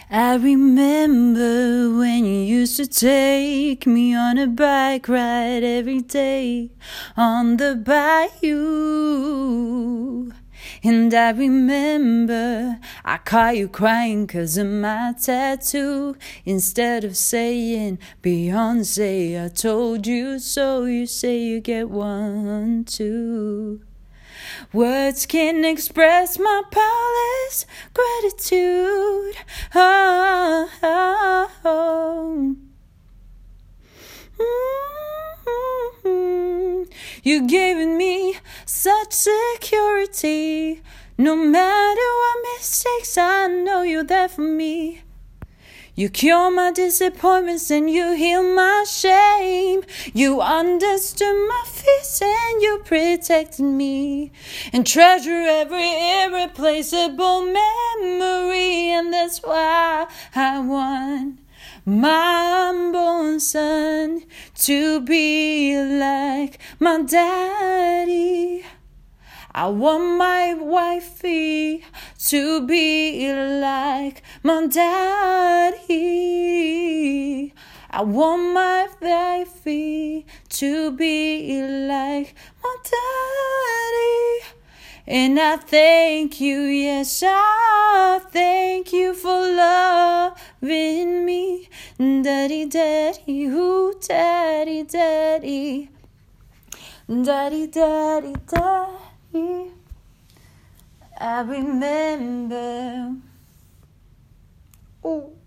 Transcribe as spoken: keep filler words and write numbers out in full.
I remember when you used to take me on a bike ride every day on the bayou. And I remember I caught you crying 'cause of my tattoo. Instead of saying Beyonce, I told you so. You say you get one too. Words can't express my powerless gratitude. Oh, oh, oh. Mm-hmm. You've given me such security. No matter what mistakes, I know you're there for me. You cure my disappointments and you heal my shame. You understood my fears and you protected me. And treasure every irreplaceable memory. And that's why I want my unborn son to be like my daddy. I want my wifey to be like my daddy. I want my wifey to be like my daddy. And I thank you, yes, I thank you for loving me. Daddy, daddy, ooh, daddy, daddy. Daddy, daddy, daddy. I remember. Ooh.